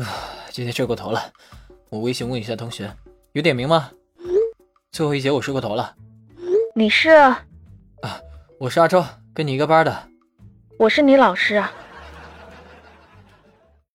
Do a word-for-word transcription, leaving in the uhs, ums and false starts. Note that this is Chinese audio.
今天睡过头了，我微信问一下同学，有点名吗？最后一节我睡过头了。 你是？ 啊，我是阿周，跟你一个班的。 我是你老师啊。